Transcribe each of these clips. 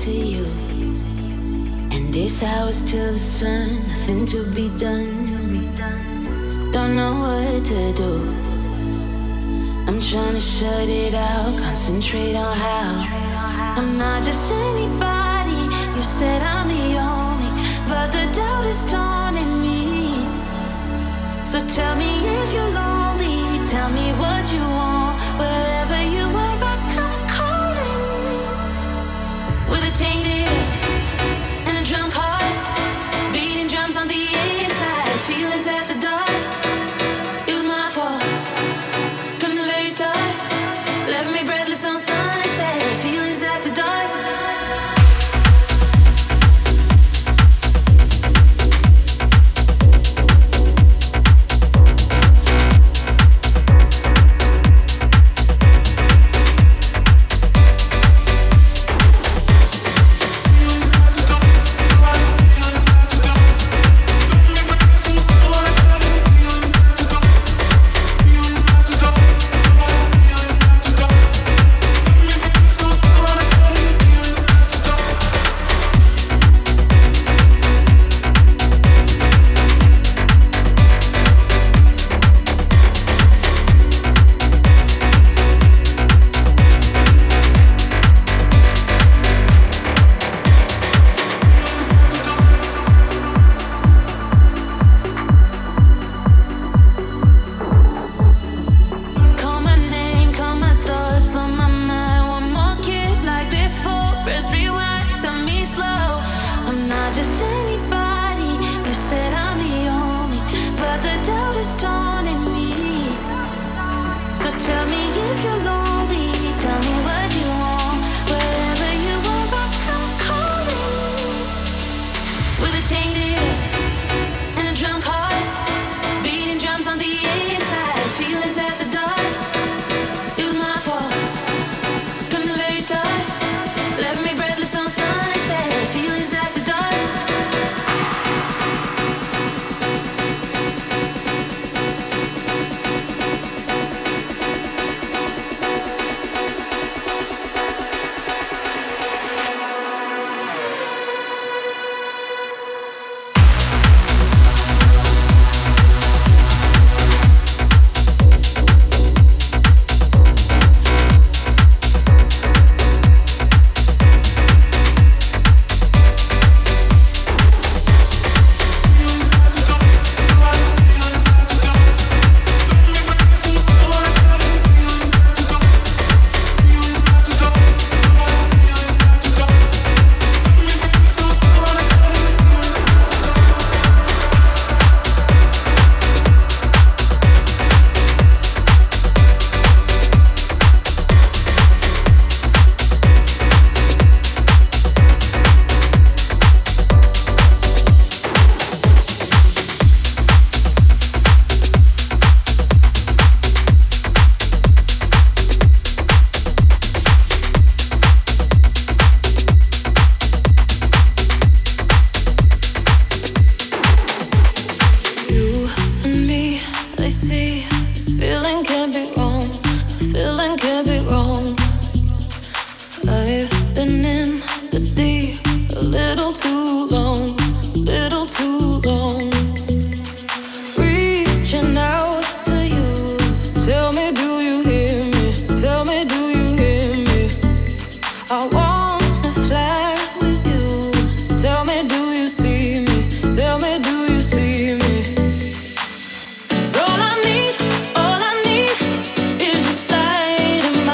to you. And this hours till the sun, nothing to be done. Don't know what to do. I'm trying to shut it out, concentrate on how I'm not just anybody. You said I'm the only, but the doubt is taunting me. So tell me if you're lonely, tell me what you want. Wherever you are, I come calling. With a tainted ear and a drunk heart, beating drums on the inside, feelings after dark. It was my fault from the very start. Left me breathless on sunset, feelings after dark.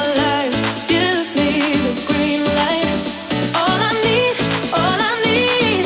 All I need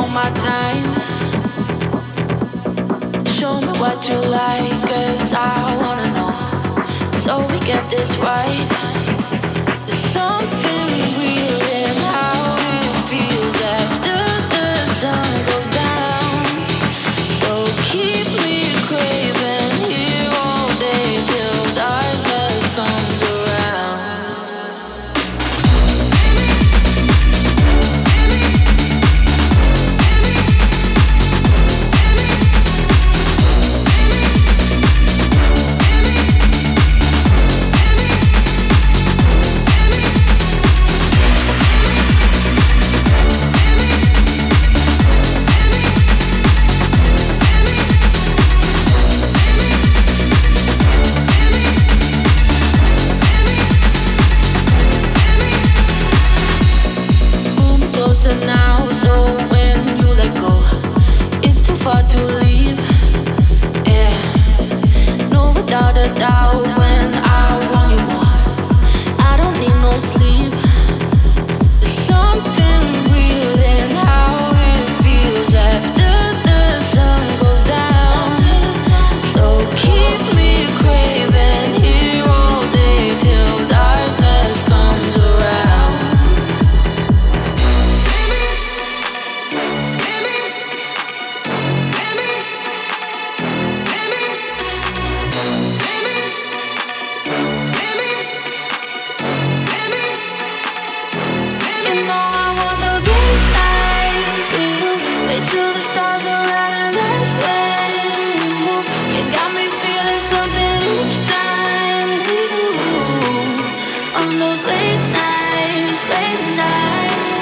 my time. Show me what you like, 'cause I wanna know, so we get this right. There's something real in how it feels after the sun goes down. So keep me craving here all day till darkness comes around. Now, so when you let go, it's too far to leave. Yeah, no, without a doubt, when I want you more, I don't need no sleep. There's something real in how it feels after the sun goes down. So keep me craving here all day till darkness comes around. Till the stars are out and that's when we move. You got me feeling something each time we do. On those late nights, late nights.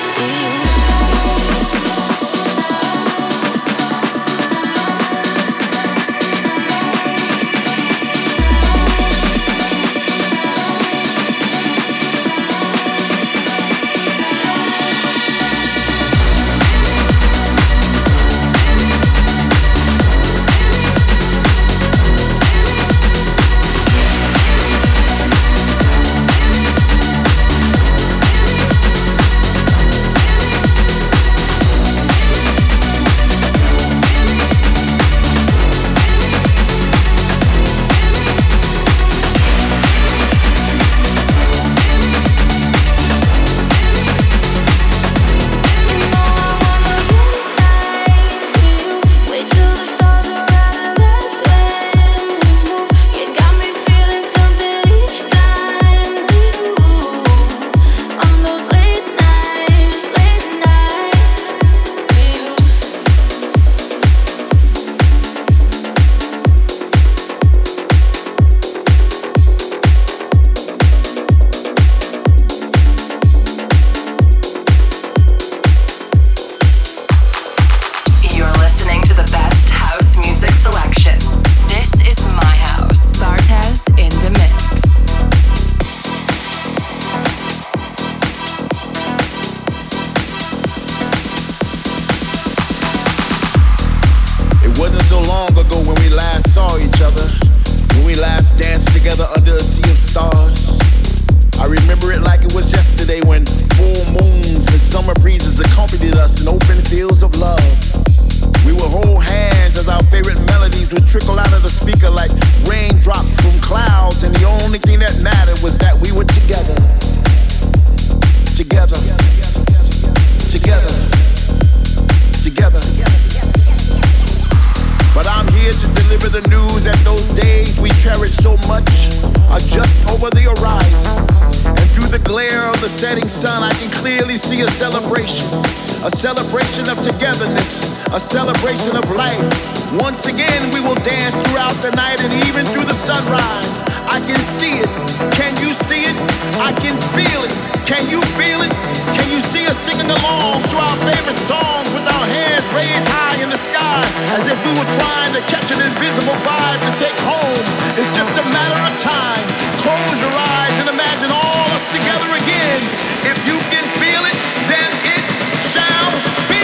A celebration of togetherness, a celebration of life. Once again, we will dance throughout the night and even through the sunrise. I can see it. Can you see it? I can feel it. Can you feel it? Can you see us singing along to our favorite songs with our hands raised high in the sky as if we were trying to catch an invisible vibe to take home? It's just a matter of time. Close your eyes and imagine all us together again. If you can feel it, then it shall be.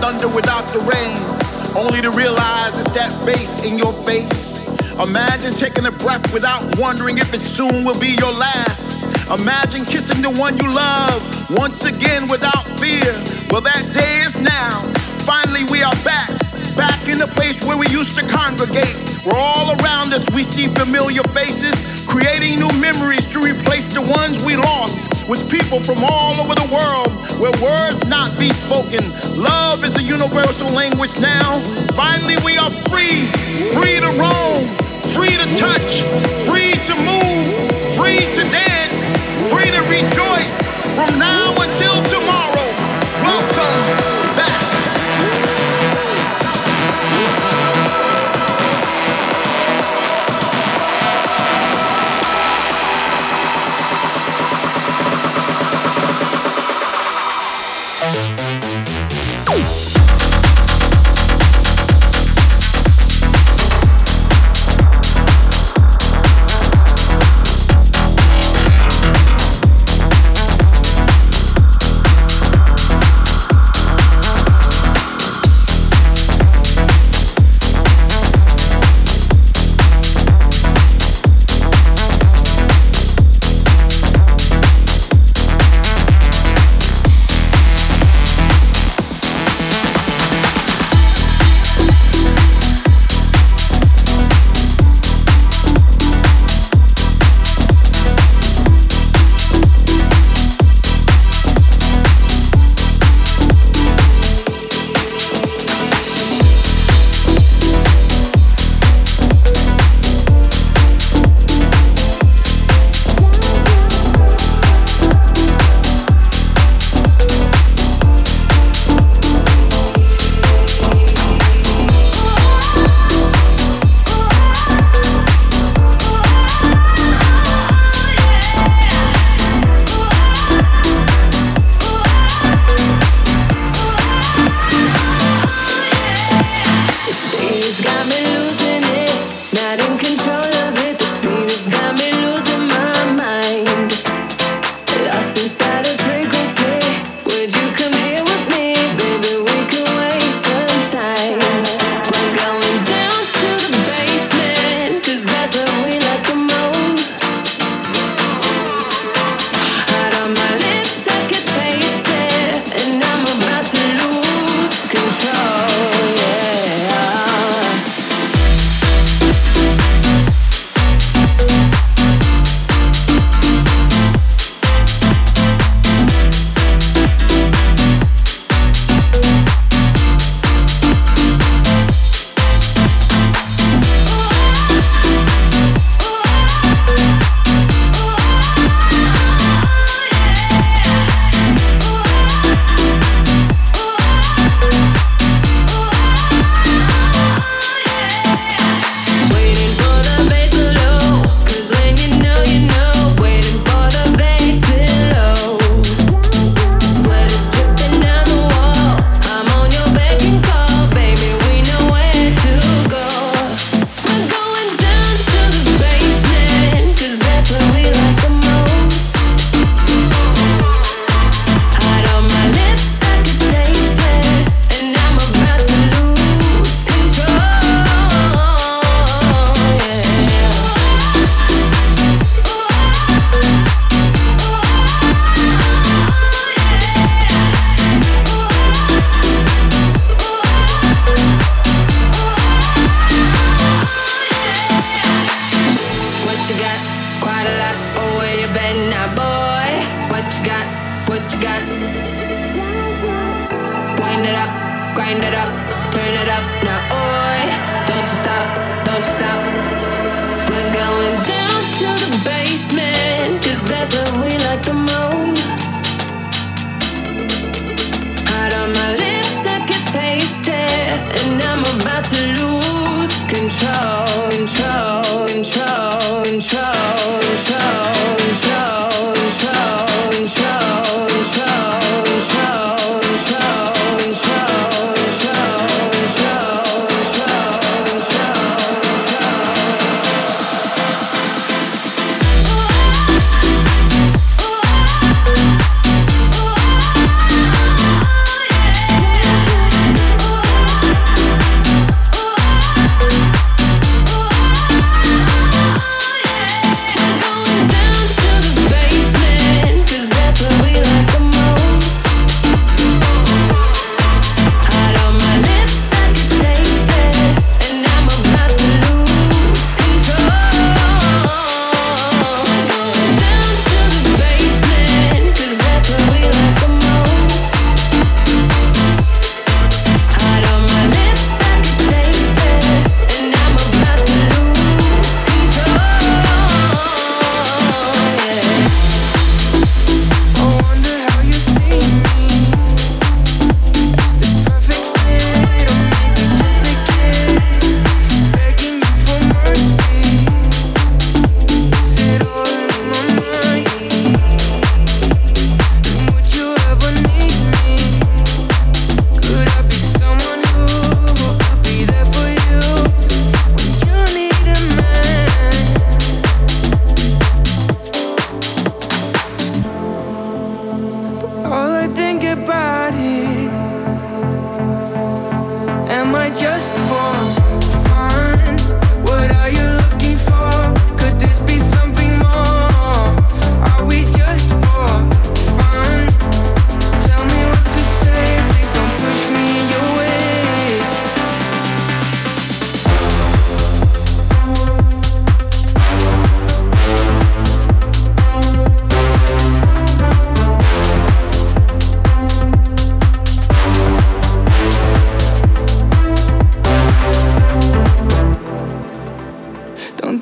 thunder without the rain, only to realize it's that bass in your face. Imagine taking a breath without wondering if it soon will be your last. Imagine kissing the one you love once again without fear. Well, that day is now. Finally, we are back in the place where we used to congregate. We're all around us, we see familiar faces, creating new memories to replace the ones we lost with people from all over the world where words not be spoken. Love is a universal language now. Finally, we are free, free to roam, free to touch, free to move, free to dance, free to rejoice from now until tomorrow. Welcome back.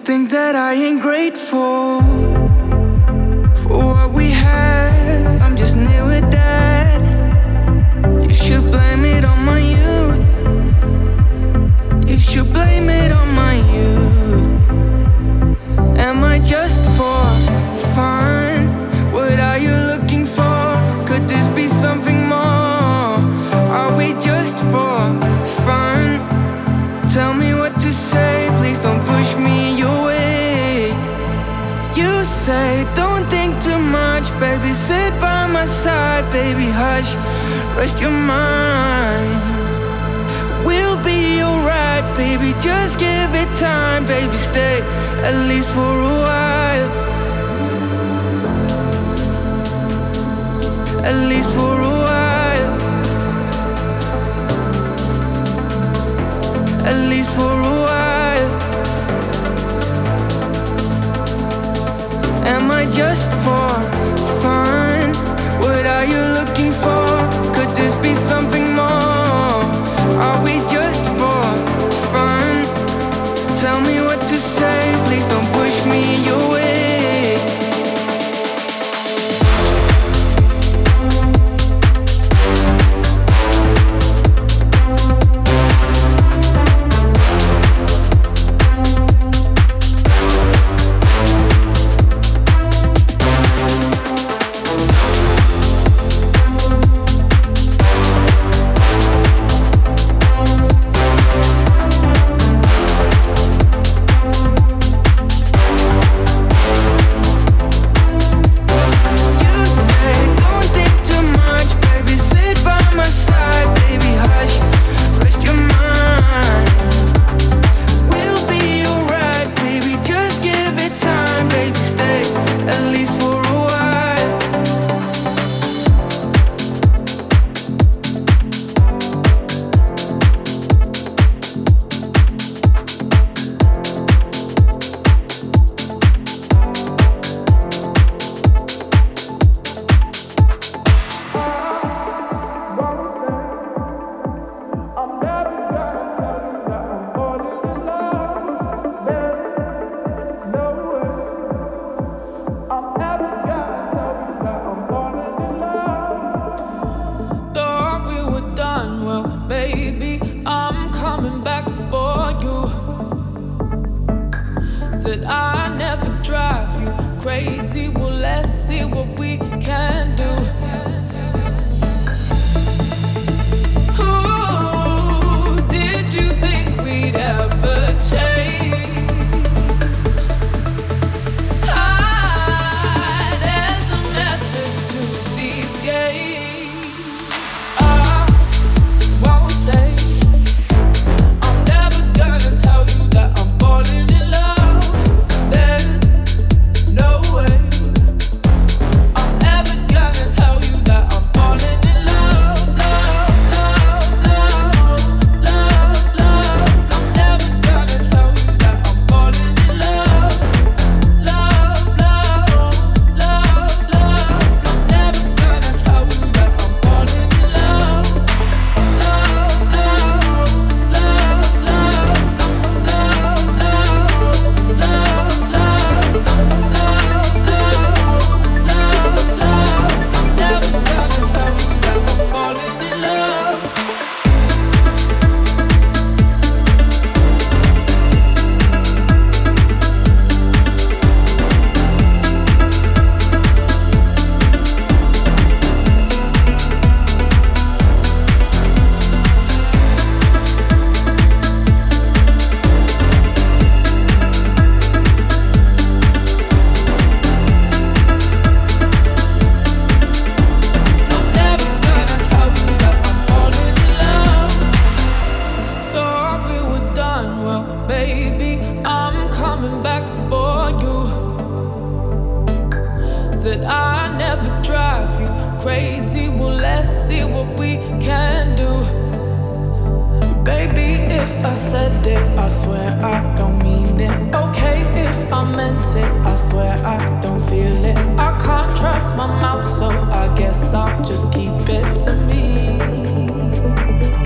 think that I ain't grateful for what we had. I'm just near with that. You should blame it on my youth. You should blame it on my youth. Am I just for fun? What are you looking for? Could this be something more? Are we just for fun? Tell me what to say, please don't push me your way. You say, don't think too much, baby, sit by my side, baby, hush, rest your mind. We'll be alright, baby, just give it time, baby, stay, at least for a while. At least for a while. At least for a while. Am I just for fun? What are you looking for? Could this be something more? Are we just for fun? Tell me what to say, please don't push me your way.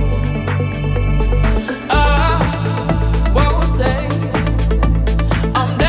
I'm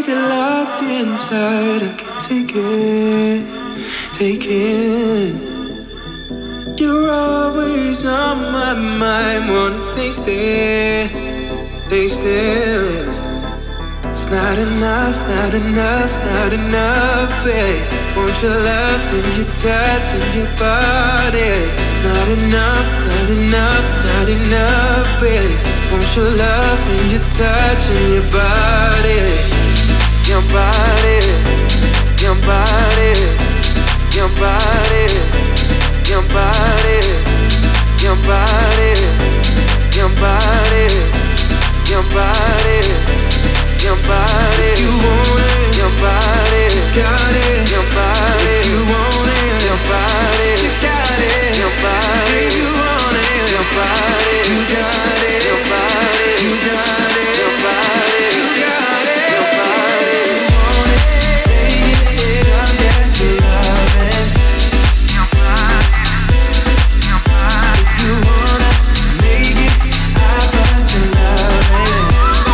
keep it locked inside. I can't take it, take it. You're always on my mind, wanna taste it, taste it. It's not enough, not enough, not enough, babe. Want your love and your touch and your body. Not enough, not enough, not enough, babe. Want your love and your touch and your body. Your body, your body, your body, your body, your body, your body, your body, your body. If you want it, your body, got it. Your body, if you want it, your body, you got it. Your body, if you want it, your body, you got it. Your body, you got it. Your body, you got it. Your body, you want it, take it, I'll get you loving. Your body, your body. If you wanna make it, I got you loving.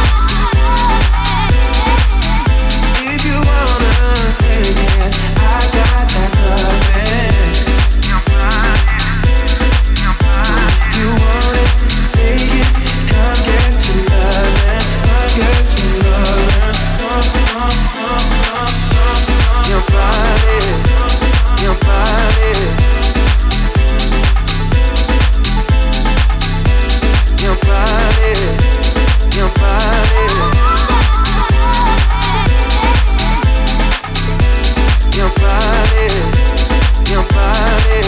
If you wanna take it, I got that loving. Your body, your body. So if you want it, take it, come get your loving, I'll get your loving. Your body, your body, your body, your body, your body, your body,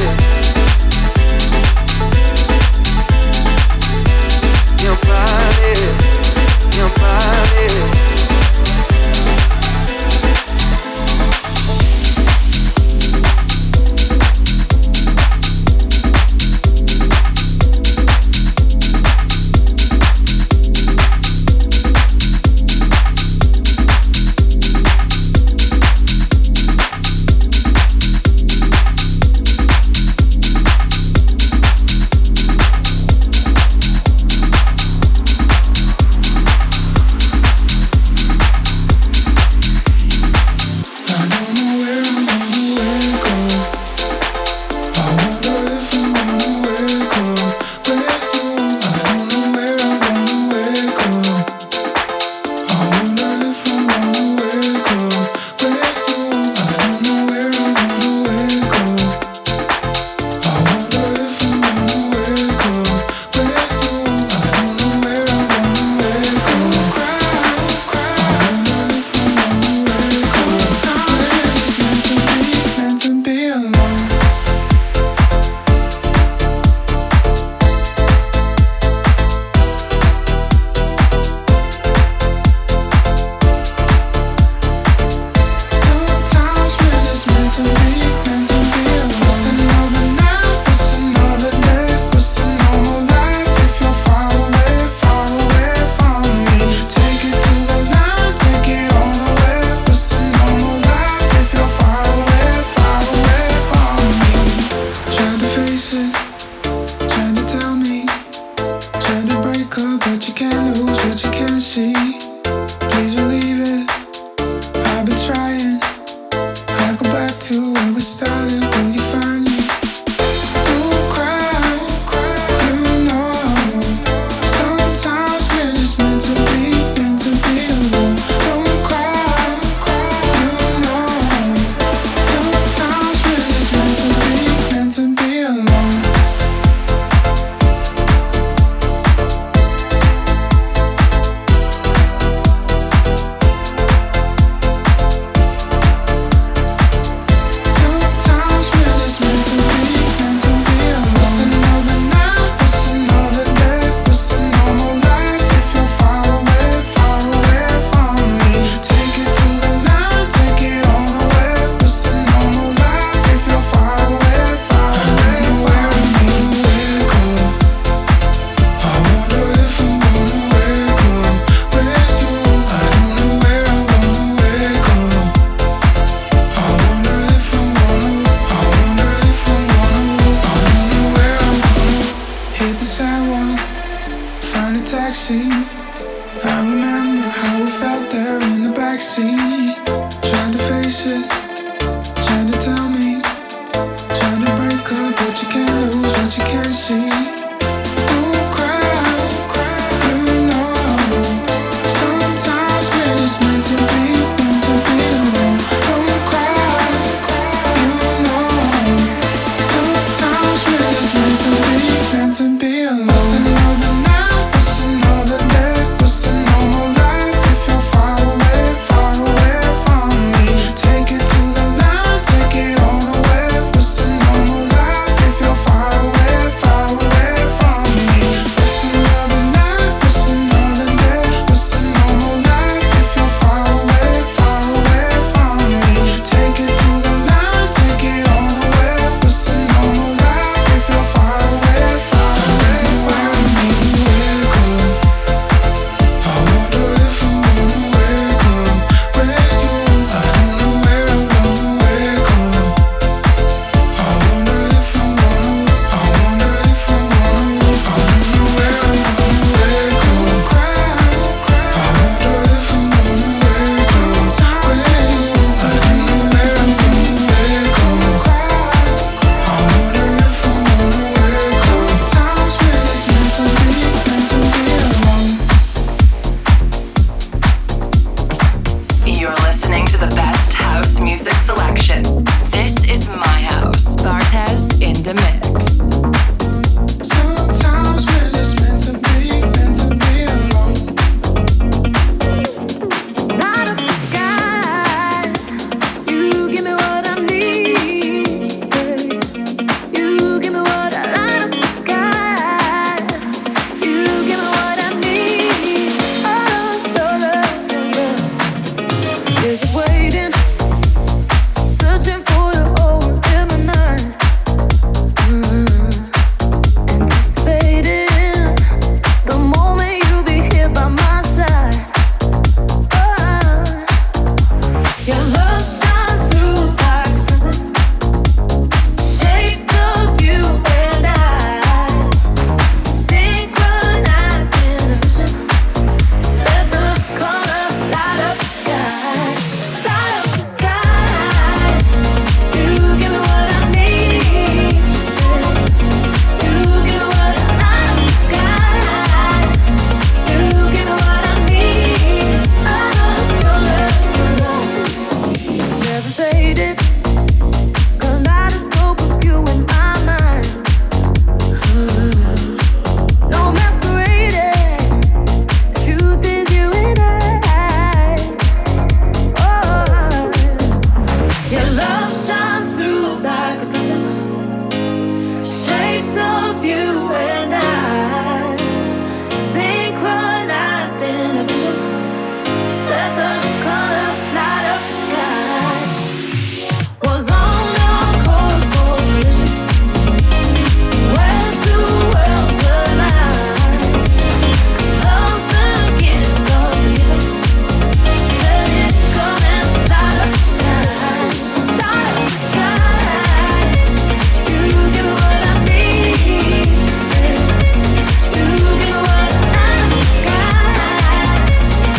your body, your body. taxi. I remember how it felt there in the back backseat, trying to face it, trying to tell me, trying to break up, but you can't lose what you can't see. Don't cry, you know, sometimes we're just meant to be alone. Don't cry, you know, sometimes we're just meant to be alone. What's another night, what's another day, what's a normal life if you're far away from me? Take it to the line, take it all the way. What's a normal life if you're far away from me? What's another night, what's another day, what's a normal life if you're far away from me? Take it to the line, take it all the way. What's a normal life if you're far away from me? Wake up, I wonder if I'm gonna wake up with you. I don't know where I'm gonna wake up. I wonder if I'm gonna, I wonder if I'm gonna, I don't know where I'm gonna wake up. Cry, I wonder if I'm gonna wake up with you. I don't know where I'm gonna wake up. Cry, I wonder if I'm gonna wake up. Sometimes we're just meant to be alone. You're listening to the best house music selection. This is my house. Bartez in the mix. Sometimes we're just meant to be alone. Light up the sky. You give me what I need. You give me what I light up the sky. You give me what I need. Oh, your love is waiting, searching for you over in the night. Anticipating the moment you'll be here by my side. Oh, your love shines through like a prism, shapes of you and I, synchronized in a vision. Let the color light up the sky, light up the sky. You give me what I need. You give me what I light up the sky. You give me what I need. Your love, it's never faded. Kaleidoscope of you in my mind. No masquerading. The truth is you and I. Oh, your love shines through like a prism, shapes of you and I, synchronized in a vision. Let the color light up the sky. Was on a course for collision, where two worlds align. 'Cause love's the gift of the giver. Let it come and light up the sky, light up the sky. You give me what I need. You give me what I light up the sky.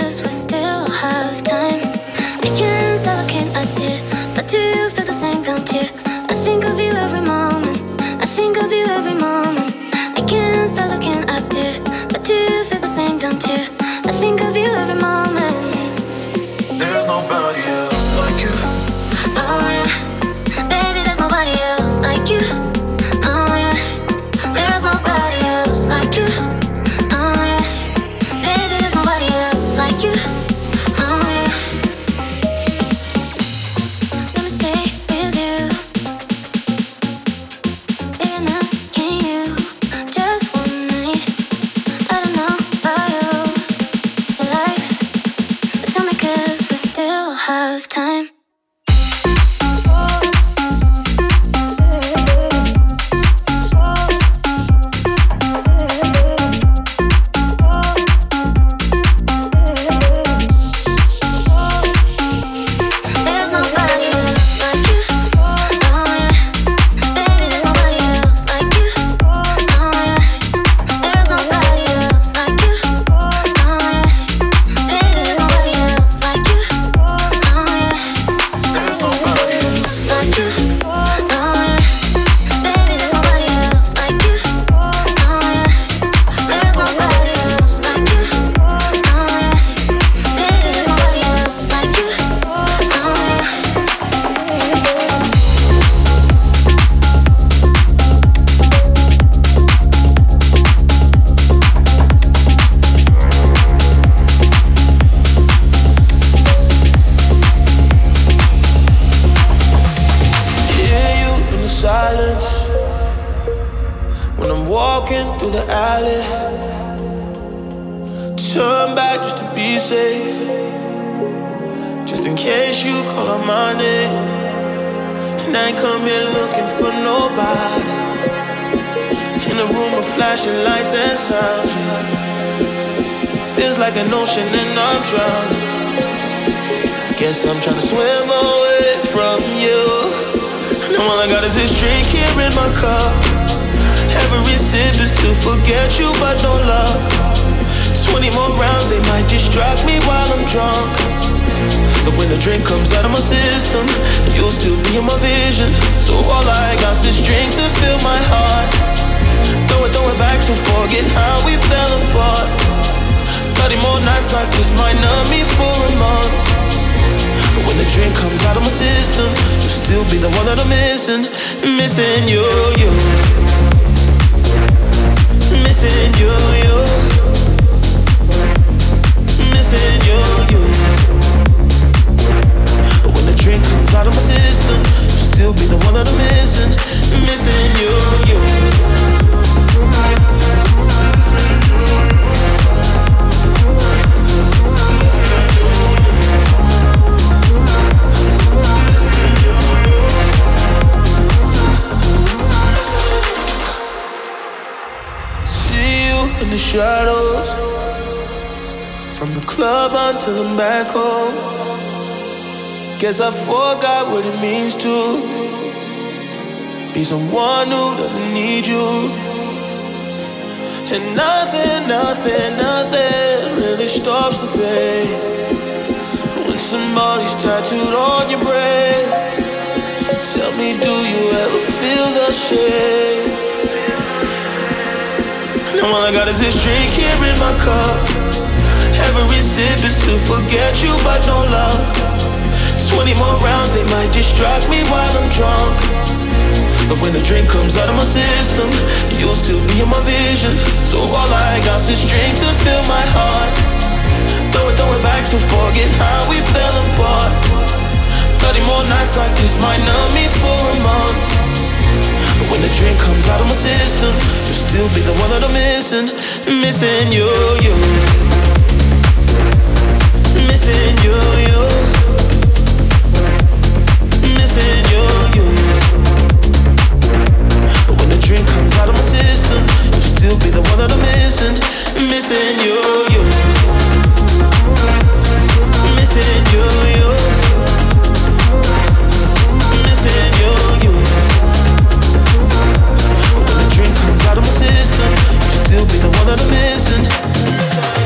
'cause we still have time. I can't stop looking at you, but do you feel the same, don't you? I think of you every moment, I think of you every moment. I can't stop looking at you, but do you feel the same, don't you? I think of you every moment. There's nobody else like you. Oh yeah, baby, there's nobody else like you. Oh yeah, there's nobody else like you. Oh yeah, baby, there's nobody else like you. Oh yeah, let me stay with you. Baby, now can you just one night? I don't know about you, your life, but tell me 'cause we still have time. There's nobody else like you. Oh yeah, baby, there's nobody else like you. Oh yeah, there's nobody else like you. Oh yeah, baby, there's nobody else like you. Oh yeah, There's nobody else like you. Oh yeah, baby, there's nobody else like you. Oh yeah, there's nobody else like you. Oh yeah, baby, there's nobody else like you. Oh yeah. Hear you in the silence when I'm walking through the alley. Turn back just to be safe, just in case you call on my name. And I ain't come here looking for nobody. In a room with flashing lights and sounds, yeah. Feels like an ocean and I'm drowning. I guess I'm trying to swim away from you. And all I got is this drink here in my cup. Every sip is to forget you, but no luck. 20 more rounds, they might distract me while I'm drunk. But when the drink comes out of my system, you'll still be in my vision. So all I got is this drink to fill my heart. Throw it back to forget how we fell apart. 30 more nights like this might numb me for a month. But when the drink comes out of my system, you'll still be the one that I'm missing. Missing you, you. Missing you, you. Missing you, you. But when the drink comes out of my system, you'll still be the one that I'm missing. Missing you, you. In the shadows, from the club until I'm back home. Guess I forgot what it means to be someone who doesn't need you. And nothing really stops the pain when somebody's tattooed on your brain. Tell me, do you ever feel the shame? And all I got is this drink here in my cup. Every sip is to forget you, but no luck. 20 more rounds, they might distract me while I'm drunk. But when the drink comes out of my system, you'll still be in my vision. So all I got is this drink to fill my heart. Throw it back to forget how we fell apart. 30 more nights like this might numb me for a month. But when the drink comes out of my system, you'll still be the one that I'm missing. Missing you, you. Missing you, you. Missing you, you. But when the drink comes out of my system, you'll still be the one that I'm missing. Missing you, you. Missing you, you. Missing you, you. When the drink comes out of my system, you'll still be the one that I'm missing.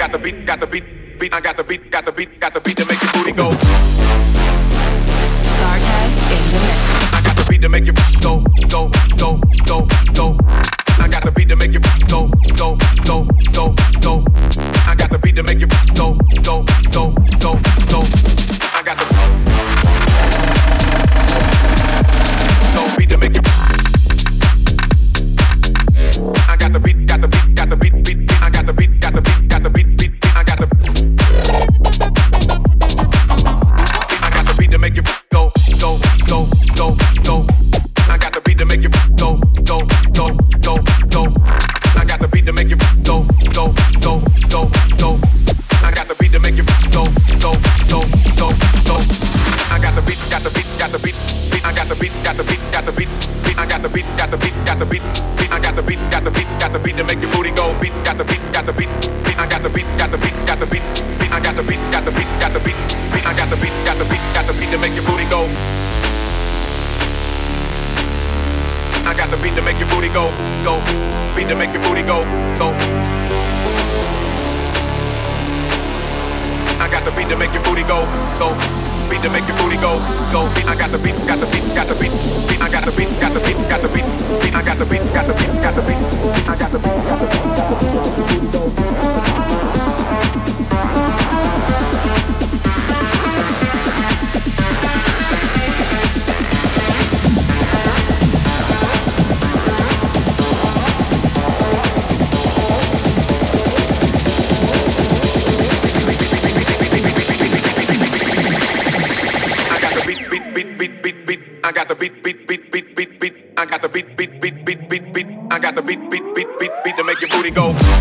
got the beat, got the beat, beat. I got the beat, got the beat, got the beat to make your booty go. Bartez in the mix. I got the beat to make you go, go, go, go, go. I got the beat to make you go, go, go, go, go. I got the beat to make you go, go, go, go, go. I got the beat to make you. I got the beat, got the beat, got the beat, beat, beat. I got the beat, got the beat, got the beat, beat, beat. I got the beat to make you go, go, go, go, go. I got the beat to make you go, go, go, go, go. I got the beat to make you go, go, go, go, go. I got the beat to make you go, go, go, go, go. I got the beat, got the beat, got the beat, beat. I got the beat, got the beat, got the beat, beat. I got the beat, got the beat, got the beat, beat. I got the beat, got the beat, got the beat to make your booty go. Beat, got the beat, got the beat, beat. I got the beat, got the beat, got the beat, beat. I got the beat, got the beat, got the beat, beat. I got the beat, got the beat, got the beat to make your booty go. I got the beat to make your booty go, go. Beat to make your booty go, go. I got the beat to make your booty go, go. Beat to make your booty go, go. I got the beat, got the beat, got the beat, beat. I got the beat, got the beat, got the beat, beat. I got the beat, got the beat, got the beat. I got the beat, got the beat, got the beat. I got the beat, beat, beat, beat, beat, beat. I got the beat, beat, beat, beat, beat, beat. I got the beat, beat, beat, beat, beat to make your booty go.